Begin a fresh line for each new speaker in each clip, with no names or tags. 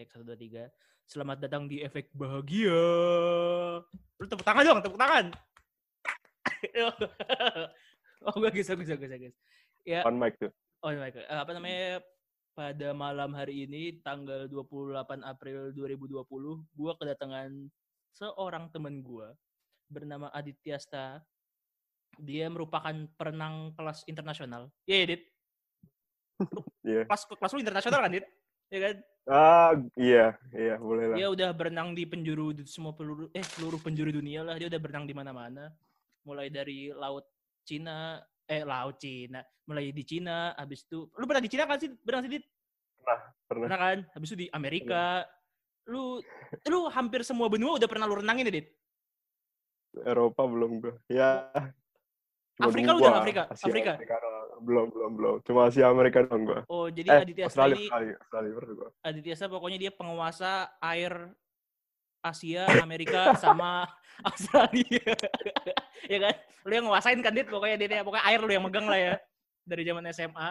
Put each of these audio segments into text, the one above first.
Cek 1, 2, 3. Selamat datang di Efek Bahagia. Lu tepuk tangan dong, tepuk tangan. Oh, bagus. Ya,
On mic tuh.
Apa namanya, pada malam hari ini, tanggal 28 April 2020, gue kedatangan seorang temen gue bernama Aditya Sta. Dia merupakan perenang kelas internasional. Iya, Dit.
Iya.
Kelas lu internasional kan, Dit? Iya kan?
Iya, boleh lah.
Dia udah berenang di seluruh penjuru dunia lah. Dia udah berenang di mana-mana. Mulai dari laut Cina, mulai di Cina, habis itu lu pernah di Cina kan sih? Berenang sih, Dit?
Pernah.
Pernah kan? Habis itu di Amerika. Lu hampir semua benua udah pernah lu renangin ya, Dit?
Eropa belum gue. Ya. Cuma
Afrika lu
dua.
udah Afrika?
Asia,
Afrika?
Amerika doang. Belum. Cuma Asia Amerika doang gue.
Oh, jadi Aditya Sta ini
Australia pernah gue.
Aditya Sta pokoknya dia penguasa air Asia, Amerika, sama Australia. Ya kan? Lu yang nguasain kan, Dit? Pokoknya air lu yang megang lah ya. Dari zaman SMA.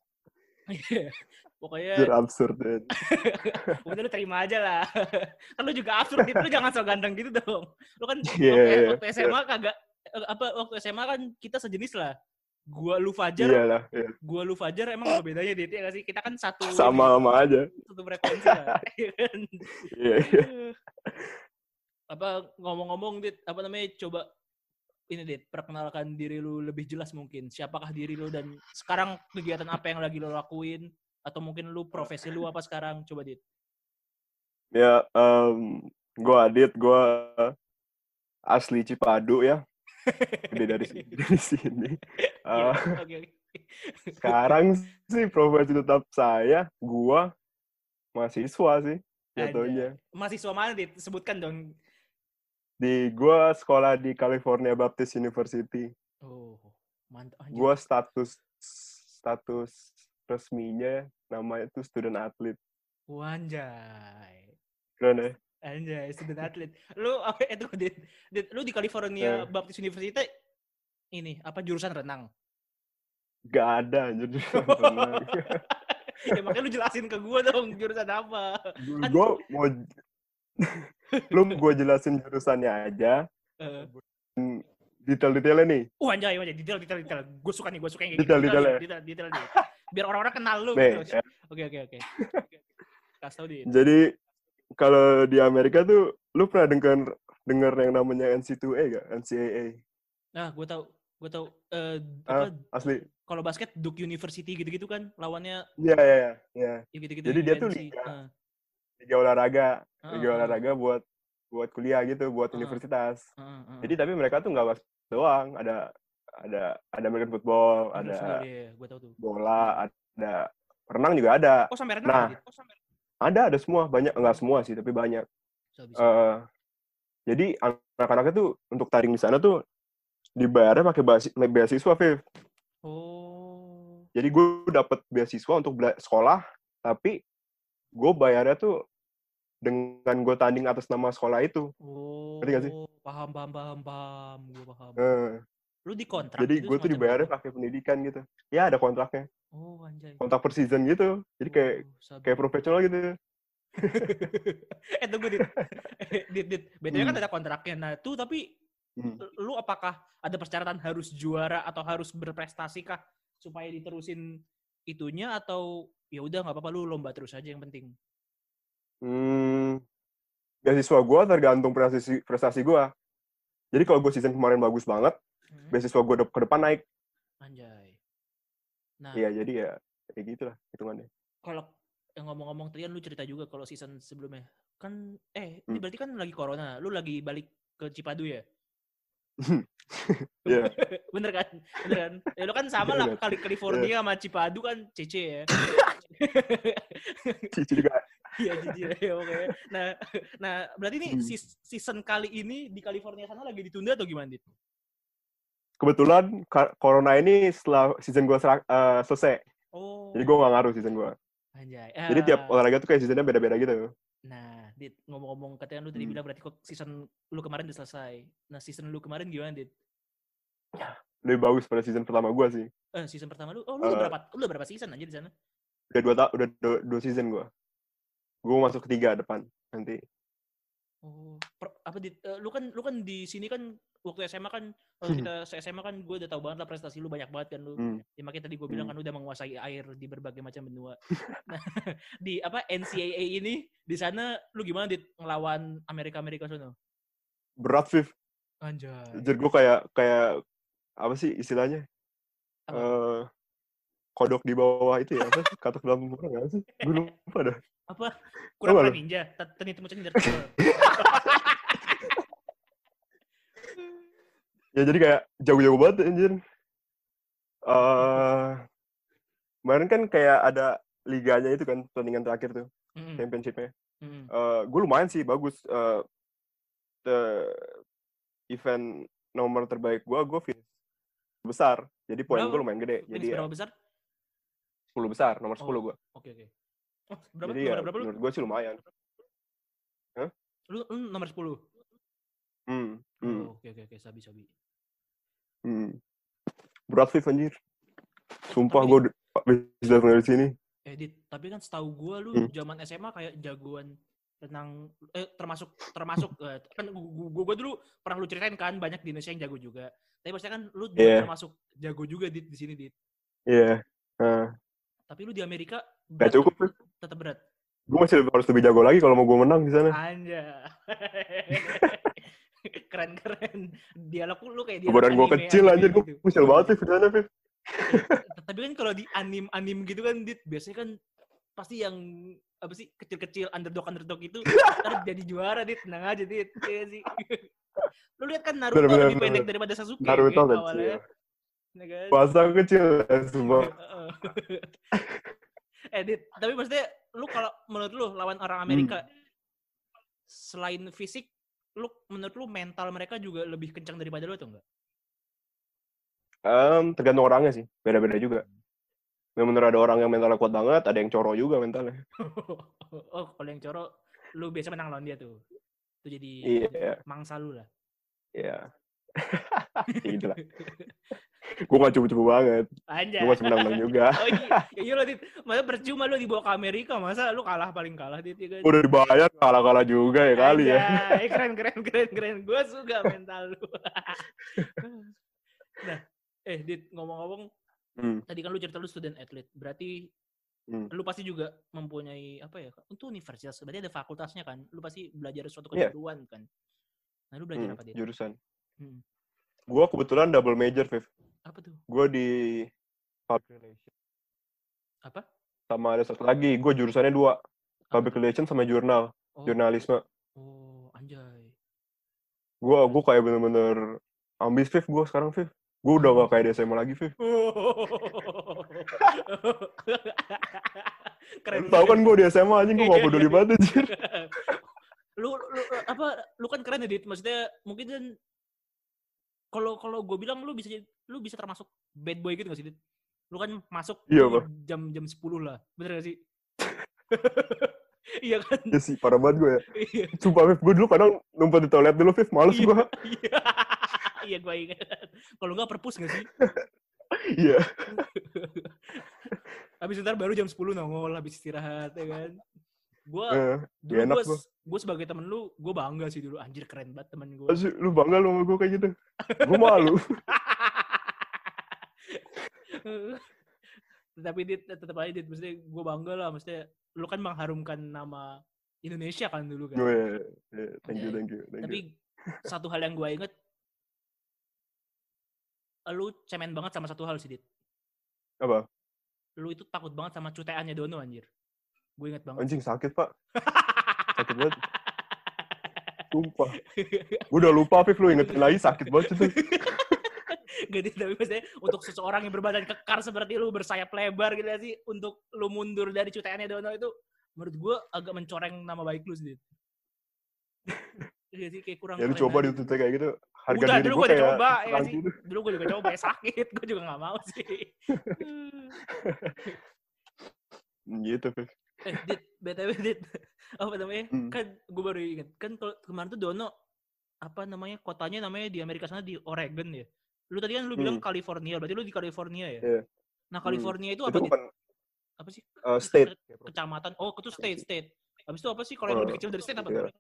Pokoknya
Absurd deh.
udah lu terima aja lah. Kan lu juga absurd, Dit. Lu jangan so ganteng gitu dong. Lu kan waktu SMA kagak waktu SMA kan kita sejenis lah. Gua lu Fajar.
Iyalah, iya.
Gua lu Fajar emang apa bedanya, Dit? Ya gak sih? Kita kan satu
sama aja.
Satu frekuensi lah.
Iya.
Apa ngomong-ngomong, Dit, apa namanya, coba ini, Dit, perkenalkan diri lu lebih jelas mungkin. Siapakah diri lu dan sekarang kegiatan apa yang lagi lu lakuin, atau mungkin lu profesi lu apa sekarang? Coba, Dit.
Ya, gue Adit, gue asli Cipadu ya. Gede dari sini.
Okay.
Sekarang sih profesi tetap saya, gue mahasiswa sih jatuhnya.
Mahasiswa mana, Dit? Sebutkan dong.
Gue sekolah di California Baptist University.
Oh, mantap.
Gue status resminya namanya tuh student athlete.
Wanjay.
Keren ya?
Anjay, student athlete. Lu apa itu, Dit? Lu di California Baptist University ini apa, jurusan renang?
Gak ada jurusan renang.
Ya makanya lu jelasin ke gue dong jurusan apa.
Gue mau gue jelasin jurusannya aja. Detail-detailnya nih.
Anjay, detail. Gue suka yang kayak gitu. Detail nih. Biar orang-orang kenal lu gitu. Ya. Oke. Kasih tau, Dit.
Jadi kalau di Amerika tuh lu pernah denger yang namanya NCAA gak? NCAA.
Nah, gue tahu.
Asli.
Kalau basket Duke University gitu-gitu kan lawannya.
Iya.
Gitu-gitu.
Jadi dia tuh liga olahraga. Liga olahraga buat kuliah gitu, buat universitas. Jadi tapi mereka tuh nggak basket doang, ada American football, ada
gua tahu tuh.
bola, ada renang juga ada.
Oh, sampai renang.
Ada semua, banyak, enggak semua sih, tapi banyak. Jadi anak-anaknya tuh untuk tanding di sana tuh dibayarnya pakai beasiswa, Viv.
Oh.
Jadi gue dapet beasiswa untuk sekolah, tapi gue bayarnya tuh dengan gue tanding atas nama sekolah itu.
Oh.
Ngerti gak sih?
Paham. Gue paham. Lu di kontrak
jadi
gitu?
Jadi gue tuh dibayarnya pakai pendidikan gitu. Ya ada kontraknya.
Oh, anjay.
Kontrak per season gitu. Jadi kayak profesional gitu.
Tunggu, Dit. Bedanya kan ada kontraknya. Nah, tuh tapi lu apakah ada persyaratan harus juara atau harus berprestasi kah supaya diterusin itunya, atau ya udah nggak apa-apa lu lomba terus aja yang penting?
Beasiswa gue tergantung prestasi gue. Jadi kalau gue season kemarin bagus banget, beasiswa gue ke depan naik.
Anjay. Nah.
Iya, jadi ya kayak gitulah hitungannya.
Kalau yang ngomong-ngomong tadi kan lu cerita juga kalau season sebelumnya kan ini berarti kan lagi corona, lu lagi balik ke Cipadu ya?
Iya.
Bener kan? Ya lu kan sama lah, California sama Cipadu kan CC ya.
Cici juga.
Iya, ya oke. Nah berarti nih season kali ini di California sana lagi ditunda atau gimana, Dit?
Kebetulan corona ini setelah season gue selesai.
Oh.
Jadi gue gak ngaruh season gue.
Anjay.
Jadi tiap olahraga tuh kayak seasonnya beda-beda gitu.
Nah, Dit, ngomong-ngomong, katanya lu tadi bilang berarti kok season lu kemarin udah selesai. Nah, season lu kemarin gimana, Dit?
Lebih bagus pada season pertama gue sih.
Season pertama lu? Oh, lu udah berapa season aja di sana?
Udah 2 season gue. Gue masuk ketiga depan nanti.
Oh, lu kan di sini kan waktu SMA kan waktu kita SMA kan gue udah tahu banget lah prestasi lu banyak banget kan lu. Ya makanya tadi gue bilang kan lu udah menguasai air di berbagai macam benua. Nah, di NCAA ini di sana lu gimana ngelawan Amerika sana?
Berat, Viv.
Anjay.
Jadi gue kayak apa sih istilahnya? Kodok di bawah itu ya, apa sih? Katak dalam murah nggak sih? Gue lupa dah.
Apa? Kurang ninja? Tani temu cender.
Ya jadi kayak jauh-jauh banget anjir. Kemarin kan kayak ada liganya itu kan, pertandingan terakhir tuh. Championship-nya. Gue lumayan sih, bagus. Event nomor terbaik gue finish besar. Jadi poin gue lumayan gede. Jadi
berapa besar?
10 besar, nomor 10 gue.
Oke. Oh, berapa?
Jadi
berapa lu?
Menurut gue sih lumayan.
Hah? Lu nomor 10? Oke, sabi.
Berat sih anjir. Sumpah gue bisa dari sini.
Tapi kan setahu gue lu zaman SMA kayak jagoan renang termasuk kan gue dulu pernah lu ceritain kan banyak di Indonesia yang jago juga. Tapi maksudnya kan lu termasuk jago juga di sini
Iya.
Tapi lu di Amerika
berat. Gak cukup.
Tetap berat.
Gue masih harus lebih jago lagi kalau mau gue menang di sana.
Anjay. Keren. Dialog lu kayak dialog
badan gue kecil anjir, gue kecil banget sih di sana, Viv.
Tapi kan kalau di anim gitu kan, biasanya kan pasti yang apa sih kecil-kecil underdog itu ntar jadi juara, tenang aja, ya sih. Lu lihat kan Naruto lebih pendek daripada Sasuke
Naruto
kan awalnya.
Masa kecil semua.
Tapi maksudnya lu kalau menurut lu lawan orang Amerika selain fisik, menurut lu mental mereka juga lebih kencang daripada lu atau enggak?
Tergantung orangnya sih, beda-beda juga. Bener ada orang yang mentalnya kuat banget, ada yang coro juga mentalnya.
Kalau yang coro, lu biasa menang lawan dia tuh. Itu jadi mangsa lu lah.
Iya. Tidak. Gue gak cupu-cupu banget. Gue masih menang juga.
Oh iya loh, Dit. Masa percuma lu dibawa ke Amerika, masa lu paling kalah, Dit. Ya kan?
Udah dibayar, kalah-kalah juga ya kali ya.
Keren. Gue suka mental lu. Nah, Dit, ngomong-ngomong, tadi kan lu cerita lu student athlete. Berarti lu pasti juga mempunyai, untuk universitas. Berarti ada fakultasnya kan? Lu pasti belajar suatu kejuruan kan? Nah, lu belajar apa, Dit?
Jurusan. Gue kebetulan double major, Viv.
Apa tuh?
Gue di public relations.
Apa?
Sama ada satu lagi, gue jurusannya 2. Public relations sama jurnalisme.
Oh, anjay.
Gue kayak bener-bener ambis, Viv, gue sekarang, Viv. Gue udah gak kayak di SMA lagi, Viv. Keren. Tahu kan gue di SMA anjing, gue gak peduli banget anjir.
Lu kan keren ya, Dit. Maksudnya mungkin kan kalau gue bilang lu bisa termasuk bad boy gitu gak sih, Dit? Lu kan masuk jam 10 lah. Bener gak sih? Iya kan?
Iya sih, parah banget gue ya. Sumpah, Viv, gue dulu kadang numpet di toilet dulu, Viv. Males gue.
Iya, gue ingat. Kalau nggak perpus nggak sih?
Iya.
Habis ntar baru jam 10 nongol, habis istirahat, ya kan? Gue sebagai temen lu, gue bangga sih dulu. Anjir, keren banget temen gue.
Lu bangga lu sama gue kayak gitu? Gue malu.
Tapi tetap aja, Dit. Maksudnya gue bangga lah. Maksudnya lu kan mengharumkan nama Indonesia kan dulu kan.
Thank you.
Tapi satu hal yang gue inget, lu cemen banget sama satu hal sih, Dit.
Apa?
Lu itu takut banget sama cuteannya Dono, anjir. Gue inget banget.
Anjing, sakit, Pak. Sakit banget. Sumpah. Gue udah lupa, Viv, lu ingetin lagi, sakit banget itu.
Gak, tapi maksudnya untuk seseorang yang berbadan kekar seperti lu, bersayap lebar gitu sih, untuk lu mundur dari cuteannya Dono itu, menurut gue agak mencoreng nama baik lu sih. Jadi kayak kurang.
Ya lu coba di tutek kayak gitu. Harga
udah,
diri
dulu
gue kayak
coba, ya sih. Dulu gue juga coba, sakit. Gue juga gak mau sih.
Gitu, Viv.
Dit, BTW, Dit. Apa namanya? Kan gue baru ingat. Kan kemarin tuh Dono, kotanya namanya di Amerika sana di Oregon ya. Lu tadi kan lu bilang California, berarti lu di California ya?
Yeah.
Nah, California itu apa?
Itu bukan
apa sih?
State.
Kecamatan. Oh, itu state. Habis itu apa sih kalau yang lebih kecil dari state apa?
Iya.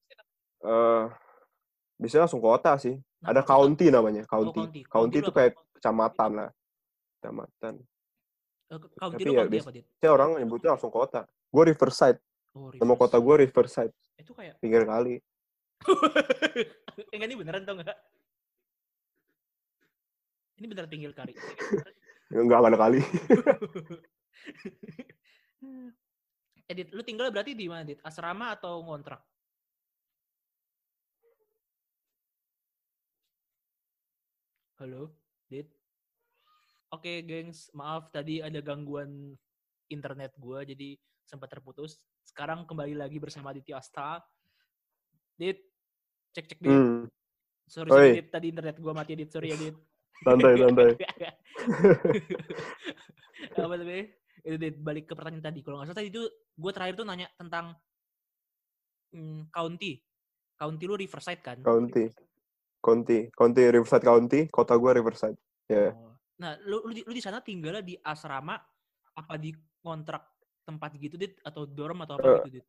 Biasanya langsung kota sih.
Nah,
Ada
kalau
county namanya, county.
county.
County
Lu
itu
apa?
kayak kecamatan lah. Kecamatan.
County
Tapi
lu
ya
county apa, Dit?
biasanya orang nyebutnya langsung kota. Gue Riverside.
Oh,
Nama kota
Riverside.
gue Riverside.
Itu kayak
Pinggir kali.
enggak, ini beneran tau nggak? Ini beneran pinggir kali.
Enggak ada kali.
Dit, lu tinggal berarti di mana, Dit? Asrama atau ngontrak? Halo, Dit? Oke, gengs, maaf tadi ada gangguan internet gua jadi sempat terputus. Sekarang kembali lagi bersama Aditya Asta. Dit, cek Dit. Sorry Dit, tadi internet gua mati, Dit. Sorry ya, Dit.
Santai.
Apa namanya? Itu Dit, balik ke pertanyaan tadi. Kalau nggak salah tadi itu gue terakhir tuh nanya tentang county. County lu Riverside kan?
County Riverside County, kota gue Riverside. Ya. Yeah.
Oh. Nah, lu di sana tinggalnya di asrama apa di kontrak tempat gitu, Dit, atau dorm atau apa gitu, Dit?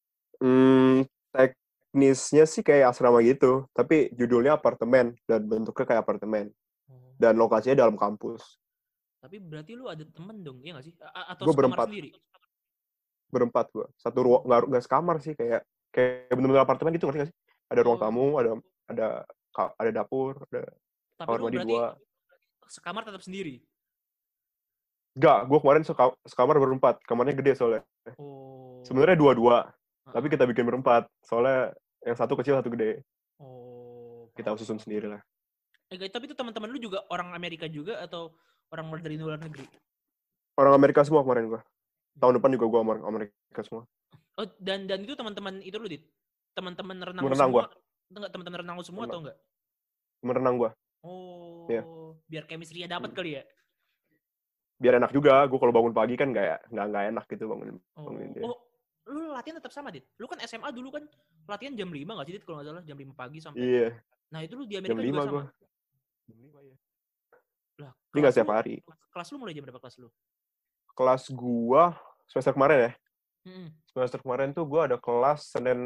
Teknisnya sih kayak asrama gitu, tapi judulnya apartemen dan bentuknya kayak apartemen. Dan lokasinya dalam kampus.
Tapi berarti lu ada temen dong, iya nggak sih? Atau
gue
sekamar sendiri?
Berempat gue. Satu ruang, nggak sekamar sih, kayak bener-bener apartemen gitu, ngerti nggak sih? Ada ruang tamu, ada dapur, ada kamar mandi 2.
Sekamar tetap sendiri?
Enggak, gue kemarin sekamar berempat. Kamarnya gede soalnya.
Oh.
Sebenarnya 2-2, tapi kita bikin berempat. Soalnya yang satu kecil, satu gede.
Oh.
Kita susun sendiri lah.
Tapi itu teman-teman lu juga orang Amerika juga atau orang dari luar negeri?
Orang Amerika semua kemarin gue. Tahun depan juga gue orang Amerika semua.
Oh, dan itu teman-teman itu lu, Dit? Teman-teman renang
lu
semua?
Enggak,
teman-teman renang lu semua atau enggak?
Temen renang gue.
Oh, yeah. Biar chemistry-nya dapat kali ya?
Biar enak juga. Gue kalau bangun pagi kan nggak enak gitu bangunin dia.
Oh, lu latihan tetap sama, Dit? Lu kan SMA dulu kan latihan jam 5 nggak sih, Dit? Kalau nggak salah jam 5 pagi sampai.
Iya.
Nah, itu lu di Amerika
jam 5
juga sama?
Gua.
Jam 5 ya. Lah,
ini nggak setiap hari.
Kelas lu mulai jam berapa kelas lu?
Kelas gua semester kemarin ya. Semester kemarin tuh gua ada kelas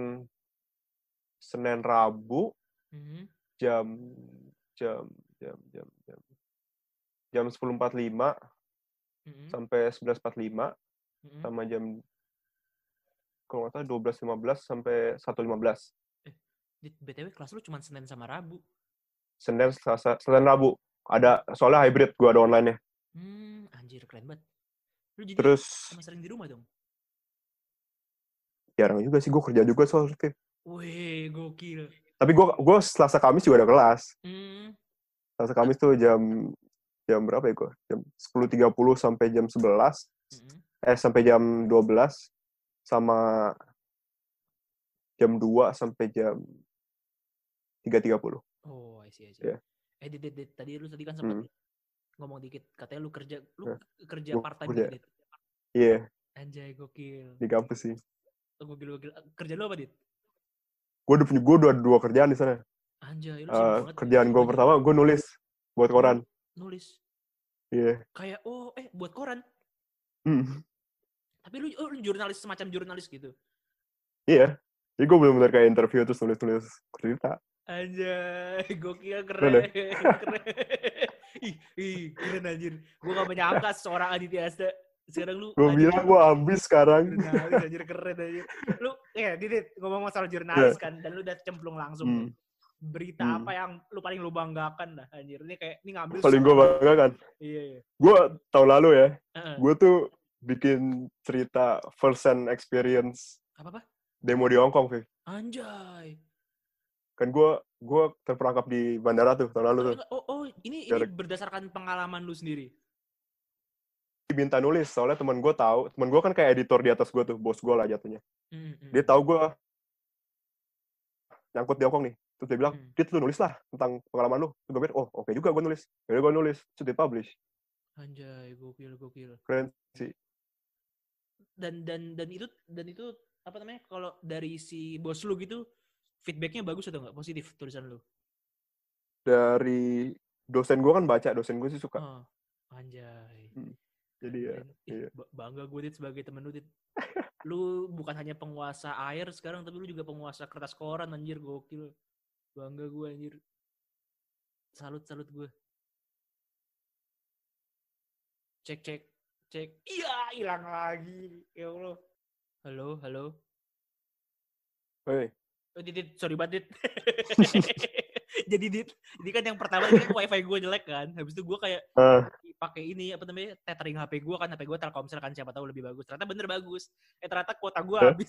Senin Rabu jam 10.45 sampai 11.45 sama jam kalau nggak salah 12.15 sampai 1.15.
BTW kelas lu cuma Senin sama Rabu?
Senin, Selasa, Senin Rabu. Ada soalnya hybrid gua ada online-nya.
Anjir keren banget. Lu jadi
terus
sering di rumah dong?
Jarang juga sih, gue kerja juga soalnya.
Wih, gokil.
Tapi gue Selasa Kamis juga ada kelas. Selasa Kamis tuh jam berapa ya gue? Jam 10.30 sampai jam 11. Sampai jam 12. Sama jam 2 sampai jam 3.30.
Oh, I see. Yeah. Tadi lu kan sempat ngomong dikit, katanya lu kerja part-time gitu, Dit?
Iya.
Anjay, gokil.
Di kampus sih.
Gokil. Kerja lu apa, Dit?
Gue udah 2 kerjaan di sana.
Anjay, lu sibuk banget.
Kerjaan gue pertama, gue nulis buat koran.
Nulis?
Iya.
Kayak, buat koran? Tapi lu jurnalis, semacam jurnalis gitu?
Iya. Jadi gue bener-bener kayak interview terus nulis cerita.
Anjay, gokil, keren. Ih, keren anjir. Gue gak menyangka seorang Aditya Asta. Sekarang lu...
Gue bilang gue ambis sekarang.
Jurnalis anjir, keren anjir. Lu, Dit, ngomong masalah jurnalis kan, dan lu udah cemplung langsung. Berita apa yang lu banggakan dah anjir. Ini ngambil...
Paling gue banggakan?
Iya.
Gue tahun lalu ya, gue tuh bikin cerita first hand experience.
Apa?
Demo di Hong Kong, Viv.
Anjay.
Kan gue terperangkap di bandara tuh tahun lalu tuh.
Ini berdasarkan pengalaman lu sendiri?
Diminta nulis, soalnya temen gue kan kayak editor di atas gue tuh, bos gue lah jatuhnya. Dia tahu gue nyangkut di Hong Kong nih. Terus dia bilang, Dit, lu nulis lah tentang pengalaman lu. Terus gue bilang, oke juga gue nulis. Jadi gue nulis, terus di-publish.
Anjay, gokil.
Keren sih.
Dan itu apa namanya, kalau dari si bos lu gitu, feedbacknya bagus atau nggak? Positif tulisan lu?
Dari dosen gue kan baca, dosen gue sih suka.
Anjay.
Jadi ya.
Bangga gue, Dit, sebagai temen lu, Dit. Lu bukan hanya penguasa air sekarang, tapi lu juga penguasa kertas koran, anjir, gokil. Bangga gue, anjir. Salut gue. Cek. Iya, hilang lagi. Ya Allah. Halo.
Hei.
Oh, Dit, sorry banget, Dit. Jadi Dit, ini kan yang pertama kan wifi gue jelek kan. Habis itu gue kayak pakai ini apa namanya tethering HP gue kan, HP gue Telkomsel kan, siapa tahu lebih bagus. Ternyata bener bagus. Ternyata kuota gue habis.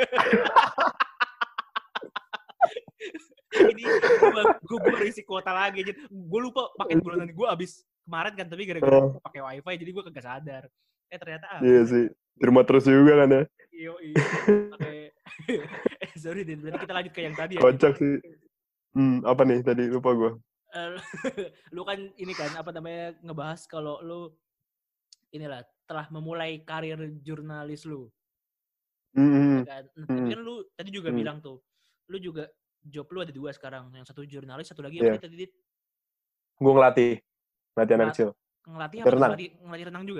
Ini gue baru isi kuota lagi. Gue lupa paket bulanan gue habis kemarin kan, tapi gara-gara pakai wifi jadi gue kagak sadar. Ternyata habis.
Iya sih. Terima terus juga kan ya.
Iya. Pakai. Sorry Din, berarti kita lanjut ke yang tadi ya.
Kocak sih. Apa nih tadi lupa gue.
Lu kan ini kan apa namanya ngebahas kalau lu inilah telah memulai karir jurnalis lu. Ya kan? Tapi kan lu tadi juga bilang tuh, lu juga job lu ada 2 sekarang, yang satu jurnalis, satu lagi apa tadi?
Gue ngelatih anak kecil.
Ngelatih apa?
Renang.
Ngelatih renang juga.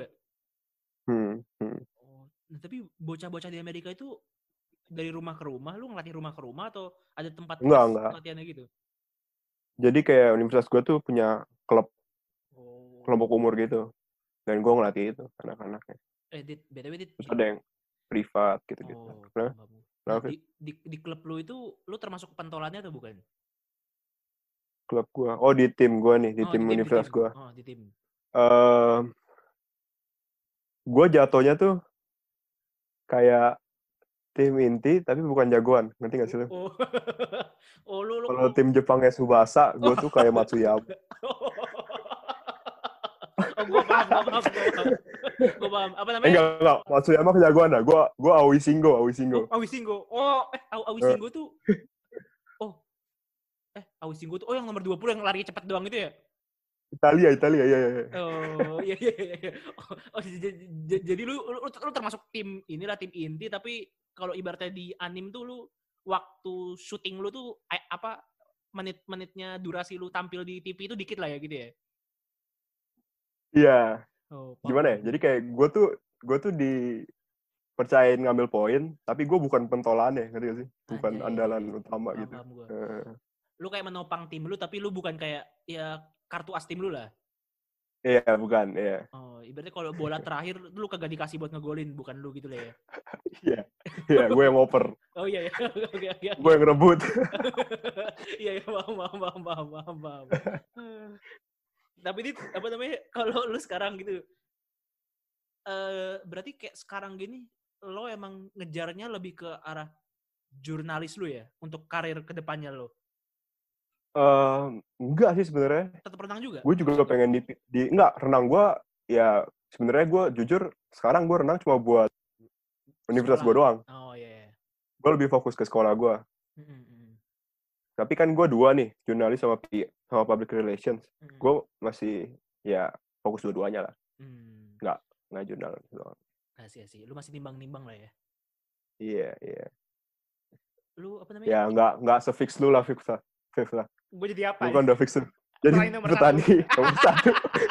Oh, nah, tapi bocah-bocah di Amerika itu dari rumah ke rumah, lu ngelatih rumah ke rumah atau ada tempat
enggak.
latihannya gitu?
Jadi kayak universitas gue tuh punya klub kelompok umur gitu, dan gue ngelatih itu anak-anaknya.
BTW
terus ada yang privat gitu.
Nah, di klub lu itu lu termasuk pentolannya atau bukan?
Klub gue, di tim gue nih, di tim universitas gue.
Di tim.
Gue jatuhnya tuh kayak tim inti tapi bukan jagoan, ngerti gak sih lu?
Lu
kalau tim Jepangnya Tsubasa, gue tuh kayak Matsuyama.
Gue paham. Apa namanya?
Enggak. Matsuyama kejagoan dah. Gue Aoi Shingo.
Aoi Shingo. Aoi Shingo tuh. Aoi Shingo tuh. Yang nomor 20 yang lari cepat doang itu ya?
Italia, iya.
Oh, iya. Jadi lu termasuk tim inilah, tim inti, tapi kalau ibaratnya di anime tuh lu waktu syuting lu tuh apa menit-menitnya durasi lu tampil di TV itu dikit lah ya gitu ya?
Iya. Gimana ya? Jadi kayak gue tuh dipercayain ngambil poin, tapi gue bukan pentolannya, ngerti gak sih? Bukan andalan utama gitu.
Lu kayak menopang tim lu, tapi lu bukan kayak ya kartu as tim lu lah.
Iya, bukan. Iya.
Oh, ibaratnya kalau bola terakhir lu kagak dikasih buat ngegolin, bukan lu gitu lah ya.
Iya, gue yang ngoper.
Oh iya. Oke.
Gue yang ngerebut.
Iya, paham. Tapi ini apa namanya? Kalau lu sekarang gitu, berarti kayak sekarang gini, lo emang ngejarnya lebih ke arah jurnalis lu ya, untuk karir kedepannya lo?
Enggak sih sebenarnya.
Tetap renang juga?
Gue juga pengen enggak, renang gue ya sebenarnya gue jujur sekarang gue renang cuma buat universitas gue doang.
Oh iya.
Gue lebih fokus ke sekolah gue. Tapi kan gue 2 nih, jurnalis sama public relations. Gue masih ya fokus dua-duanya lah. Nggak jurnalis doang.
Sih. Lu masih nimbang-nimbang lah ya? Iya. Lu apa namanya?
Ya nggak se-fix lu lah, fix lah.
Gue jadi apa?
Gue kan udah fix tuh. Jadi petani nomor 1.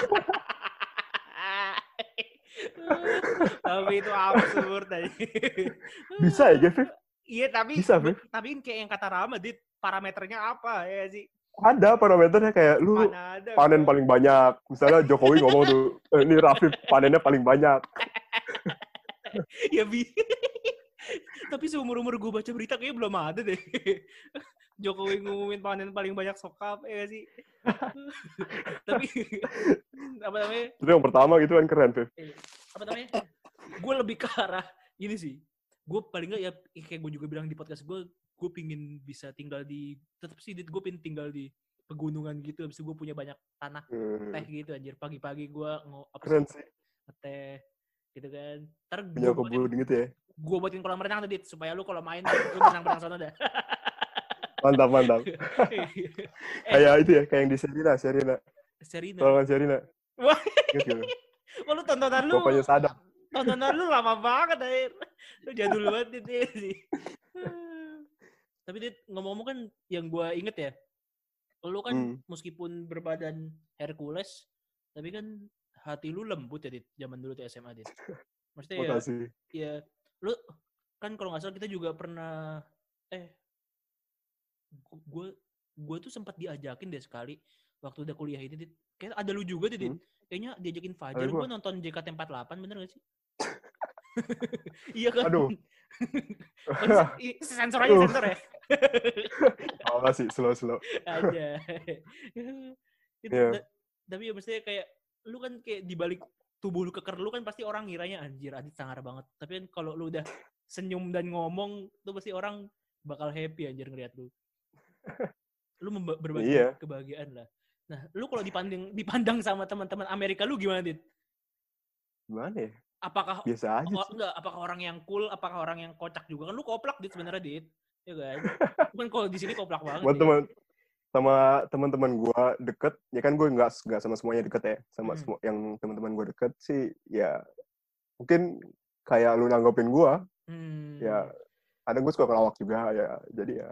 Tapi itu absurd tadi.
Bisa ya, Viv?
Iya, tapi
bisa, Viv?
Tapi kayak yang kata Rama, Dit, parameternya apa ya sih?
Ada parameternya, kayak lu panen paling banyak. Misalnya Jokowi ngomong tuh, ini Rafif panennya paling banyak.
Ya tapi seumur-umur gue baca berita kayaknya belum ada deh. Jokowi ngumumin panen paling banyak sokap, ya sih. Tapi apa namanya?
Itu yang pertama gitu kan, keren, Viv.
Apa namanya? Gue lebih ke arah ini sih. Gue paling nggak ya kayak gue juga bilang di podcast gue pingin bisa tinggal di, tetap sih gue pingin tinggal di pegunungan gitu. Abis itu gue punya banyak tanah teh gitu anjir. Pagi-pagi gue
keren sih.
Ngeteh gitu kan. Ntar
punya kebun gitu ya.
Gue buatin kolam renang tadi supaya lu kalau main lu berenang sana dah.
Mantap. Kayak itu ya, kayak yang di Sherina. Tolongan Sherina.
Wah. Lu tontonan lu.
Bapaknya Sadam.
Tontonan lu lama banget, Air. Lu jadul banget sih. Tapi Dit, ngomong-ngomong kan yang gue inget ya, lu kan meskipun berbadan Hercules, tapi kan hati lu lembut ya, Dit, zaman dulu tuh SMA, Dit. Maksudnya ya, kan kalau nggak salah kita juga pernah gue tuh sempat diajakin deh sekali waktu udah kuliah itu, Dit. Kayak ada lu juga, Dit. Kayaknya diajakin Fajar, gue nonton JKT48, bener gak sih? Iya kan?
Aduh.
Sensor aja, sensor ya.
Oh sih, slow.
Aja.
Yeah.
Tapi ya maksudnya kayak lu kan kayak dibalik tubuh lu keker lu kan pasti orang ngiranya anjir Adit sangar banget. Tapi kan kalau lu udah senyum dan ngomong tuh pasti orang bakal happy anjir ngeliat lu. Lu berbagi kebahagiaan lah. Nah, lu kalau dipandang sama teman-teman Amerika lu gimana, Dit?
Gimana ya?
Apakah
biasa aja sih.
Enggak, apakah orang yang cool, apakah orang yang kocak juga? Kan lu koplak, Dit, sebenarnya, Dit. Ya kan? Cuman kalau di sini koplak banget.
Buat sama teman-teman gue deket, ya kan gue nggak sama semuanya deket ya, sama semua yang teman-teman gue deket sih, ya mungkin kayak lu nanggepin gue, ya kadang gue suka ngelawak juga ya, jadi ya.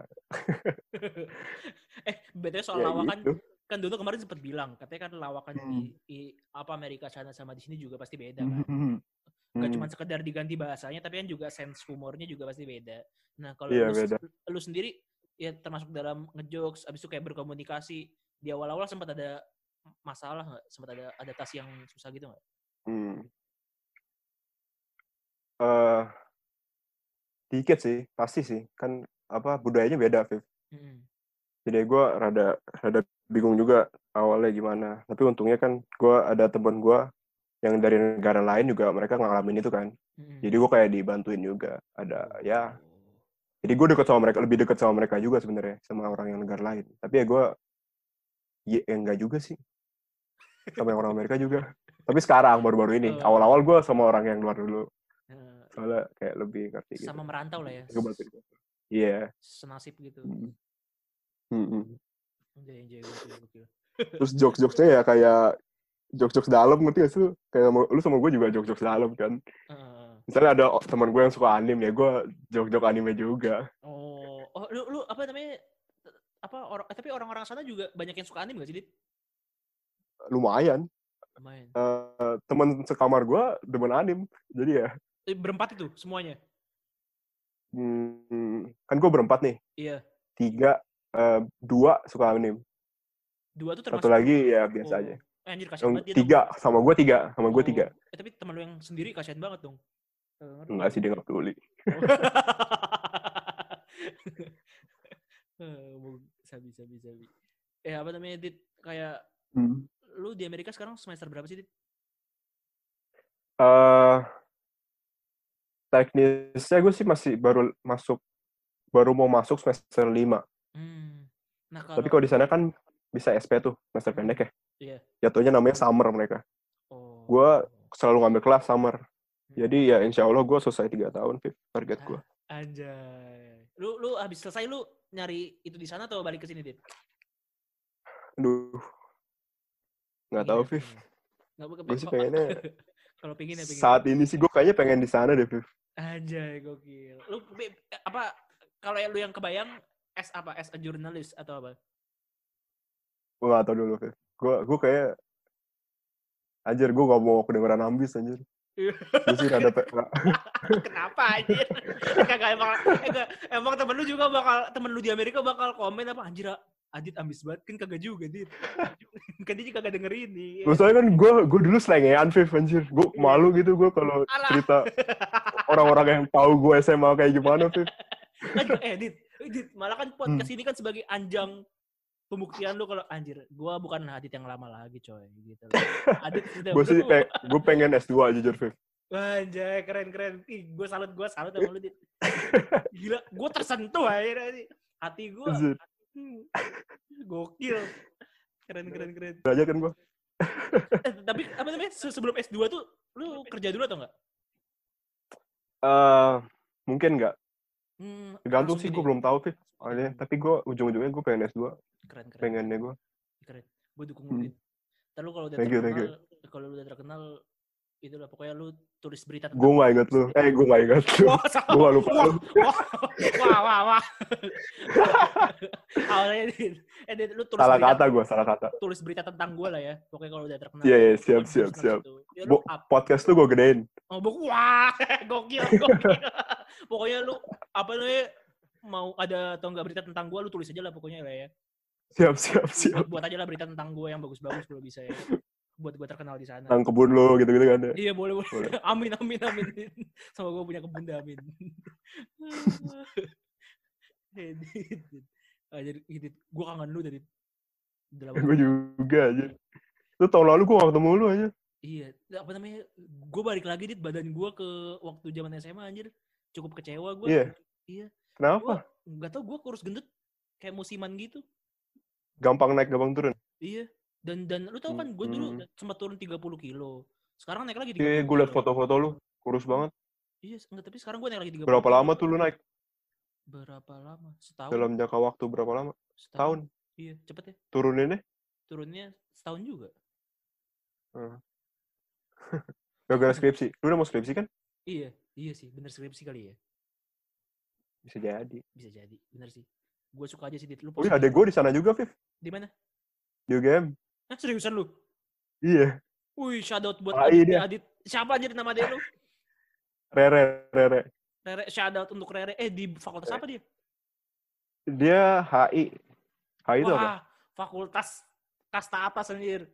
Betul soal
ya
lawakan,
gitu.
Kan dulu kemarin sempat bilang, katanya kan lawakan di Amerika sana sama di sini juga pasti beda kan. Gak cuma sekedar diganti bahasanya, tapi kan juga sense humornya juga pasti beda. Nah kalau lu sendiri ya termasuk dalam ngejokes, abis itu kayak berkomunikasi, di awal-awal sempat ada masalah nggak? Sempat ada adaptasi yang susah gitu nggak?
Dikit sih, pasti sih. Kan budayanya beda, Viv. Jadi gue rada bingung juga awalnya gimana. Tapi untungnya kan gue ada teman gue yang dari negara lain juga mereka ngalamin itu kan. Jadi gue kayak dibantuin juga. Ada jadi gue lebih dekat sama mereka juga sebenarnya, sama orang yang negara lain. Tapi ya gue enggak juga sih. Sama yang orang Amerika juga. Tapi sekarang baru-baru ini. Awal-awal gue sama orang yang luar dulu. Soalnya kayak lebih ngerti gitu.
Sama merantau lah ya.
Iya.
Senasib gitu.
Terus jokes-jokesnya ya kayak jokes-jokes dalam, ngerti gak sih? Kayak lu sama gue juga jokes-jokes dalam kan. Misalnya ada teman gue yang suka anime ya, gue joke-joke anime juga.
Lu apa namanya? Tapi orang-orang sana juga banyak yang suka anime gak sih, Dit?
Lumayan. Teman sekamar gue demen anime, jadi ya.
Berempat itu semuanya?
Kan gue berempat nih.
Iya.
3, 2 suka anime.
2 tuh termasuk.
Satu lagi ya biasa aja.
Anjir, kasihan banget
dia. 3 sama gue 3.
Tapi teman lu yang sendiri kasihan banget dong.
Enggak sih, dia nggak peduli.
Sabi. Apa namanya, Dit? Kayak lu di Amerika sekarang semester berapa sih, Dit?
Teknisnya gue sih masih baru mau masuk semester 5.
Nah,
tapi kalau di sana kan bisa SP tuh, semester pendek ya.
Iya.
Jatuhnya namanya summer mereka. Gue selalu ngambil kelas summer. Jadi ya insya Allah gue selesai 3 tahun, Viv, target gue.
Anjay. Lu habis selesai lu nyari itu di sana atau balik ke sini, Dit?
Aduh. Nggak tahu, Viv. Gue sih pengennya.
Kalau pengen ya pengen.
Saat ini sih gue kayaknya pengen di sana deh, Viv.
Anjay, gokil. Lu kalau lu yang kebayang as a journalist atau apa?
Gue nggak tahu dulu, Viv. Gue kayak anjir, gue gak mau kedengeran ambis, anjir. Gue sih rada
Kenapa, anjir? Emang temen lu di Amerika bakal komen apa, anjir Adit ambis banget, kan kagak juga, Dit. Kan dia kagak dengerin nih.
Maksudnya kan gue dulu slengean, Viv, anjir. Gue malu gitu gue kalau cerita orang-orang yang tahu gue SMA kayak gimana, Viv.
Dit, malah kan podcast ini kan sebagai anjang pembuktian lu kalau anjir, gue bukan Adit yang lama lagi, coy, gitu. Adit sudah.
Gue pengen S2 jujur, Viv.
Anjay, keren. Ih, gue salut sama lu, Dit. Gila, gue tersentuh akhirnya nih. Hati gue. Gokil. Keren.
Aja kan gue.
Tapi apa namanya, sebelum S2 tuh lu kerja dulu atau enggak?
Mungkin enggak. Tergantung sih, gue belum tahu, Fit. Tapi gue ujung-ujungnya gue pengen S2.
Keren.
Pengennya gue.
Keren. Gue dukung lu, Dit. Ntar lu kalau udah terkenal, itulah pokoknya lu tulis berita tentang.
Gue nggak ingat lu. Gue nggak ingat lu. Gue nggak lupa lu.
Wah. Awalnya lu tulis
salah kata.
Tulis berita tentang gue lah ya. Pokoknya kalau udah terkenal.
Iya, siap. Podcast lu gue gedein.
Wah, gokil. Pokoknya lu apa namanya mau ada atau nggak berita tentang gue, lu tulis aja lah pokoknya lah ya.
Siap.
Buat aja lah berita tentang gue yang bagus-bagus kalau bisa ya. Buat gue terkenal di sana.
Tentang kebun lo gitu-gitu kan ya.
Iya boleh. Amin. Sama gue punya kebun dah, amin. Jadi gue kangen lu dari
gue juga aja. Lu tahun lalu gue gak ketemu lu aja.
Iya, apa namanya? Gue balik lagi badan gue ke waktu zaman SMA anjir. Cukup kecewa gue. Iya.
Kenapa?
Gak tau, gue kurus gendut kayak musiman gitu.
Gampang naik, gampang turun.
Iya. Dan lu tau kan gue dulu sempat turun 30 kilo. Sekarang naik lagi 30
kilo. Gue liat foto-foto lu, kurus banget.
Iya, enggak, tapi sekarang gue naik lagi 30
Berapa lama tuh lu naik?
Berapa lama? Setahun.
Dalam jangka waktu berapa lama? Setahun.
Iya, cepet ya.
Turunnya
setahun juga.
Gara-gara skripsi. Lu udah mau skripsi kan?
Iya sih, bener skripsi kali ya.
Bisa jadi,
bener sih. Gue suka aja sih Dit.
Lu adek gue di sana juga, Viv.
Di mana?
Di UGM.
Seriusan lu?
Iya.
Wih, shoutout buat Adit. Siapa aja nama adek lu?
Rere.
Shoutout untuk Rere. Di fakultas apa dia?
Dia HI. HI itu apa?
Fakultas kasta atas anjir.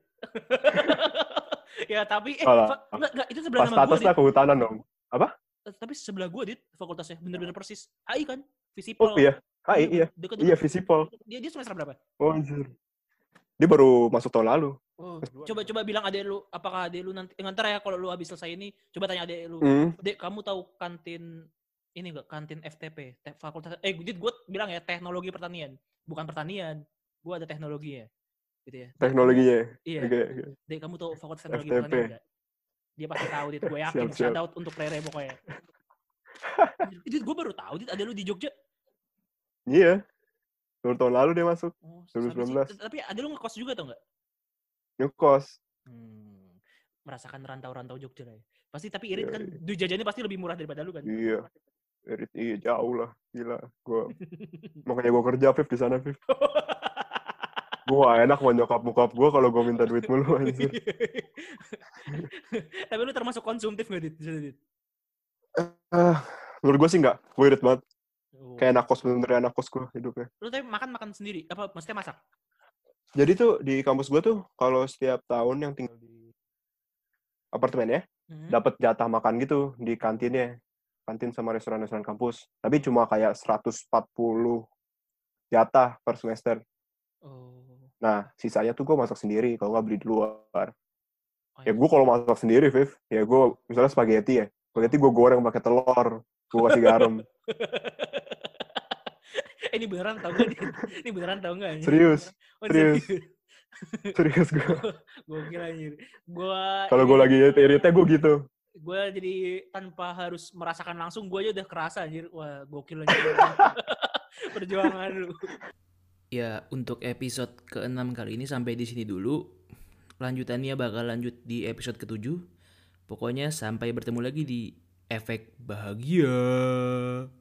Ya tapi enggak itu sebelah nama gue.
Kasta atas lah kehutanan dong. Apa?
Tapi sebelah gue Dit, fakultasnya bener-bener persis. HI kan? Visipol.
Oh iya. HI iya. Iya Visipol.
Dia semester berapa?
Oh anjir. Dia baru masuk tahun lalu.
Oh, coba bilang adek lu, apakah adek lu nanti ngantar ya kalau lu habis selesai ini, coba tanya adek lu. Dek, kamu tahu kantin ini enggak? Kantin FTP, fakultas gue bilang ya teknologi pertanian, bukan pertanian. Gue ada teknologi ya. Gitu ya.
Teknologinya.
Iya. Okay. Dek, kamu tahu fakultas teknologi pertanian enggak? Dia pasti tahu, Dit. Gue yakin. Shoutout untuk Rere pokoknya. Dit, gue baru tahu, Dit, ada lu di Jogja.
Iya. Tahun lalu dia masuk. 2019.
Tapi ada lu ngekos juga atau enggak?
Ngekos.
Merasakan rantau-rantau Jogja lah ya. Pasti tapi Irit kan duit jajannya pasti lebih murah daripada lu kan?
Iya. Irit jauh lah. Gila. Makanya gue kerja, Viv, di sana, Viv. Gue enak mau nyokap gue kalau gue minta duit mulu anjir.
Tapi lu termasuk konsumtif gak, Dit?
Menurut gue sih enggak. Gue irit banget. Kayak anak kos, bener-bener anak kos gue hidupnya.
Lu tapi makan sendiri? Apa maksudnya masak?
Jadi tuh di kampus gue tuh kalau setiap tahun yang tinggal di apartemen ya, dapat jatah makan gitu di kantinnya. Kantin sama restoran-restoran kampus. Tapi cuma kayak 140 jatah per semester. Nah, sisanya tuh gue masak sendiri kalau nggak beli di luar. Ya gue kalau masak sendiri, Viv, ya gue misalnya spaghetti ya. Spaghetti gue goreng pakai telur, gue kasih garam.
Ini beneran tau gak? Ini beneran tau gak?
Serius gue.
Gue kira anjir.
Kalau gue lagi iritnya gue gitu.
Gue jadi tanpa harus merasakan langsung, gue aja udah kerasa anjir. Wah, gokil anjir. Perjuangan lu. Ya, untuk episode ke-6 kali ini sampai di sini dulu. Lanjutannya bakal lanjut di episode ke-7. Pokoknya sampai bertemu lagi di Efek Bahagia.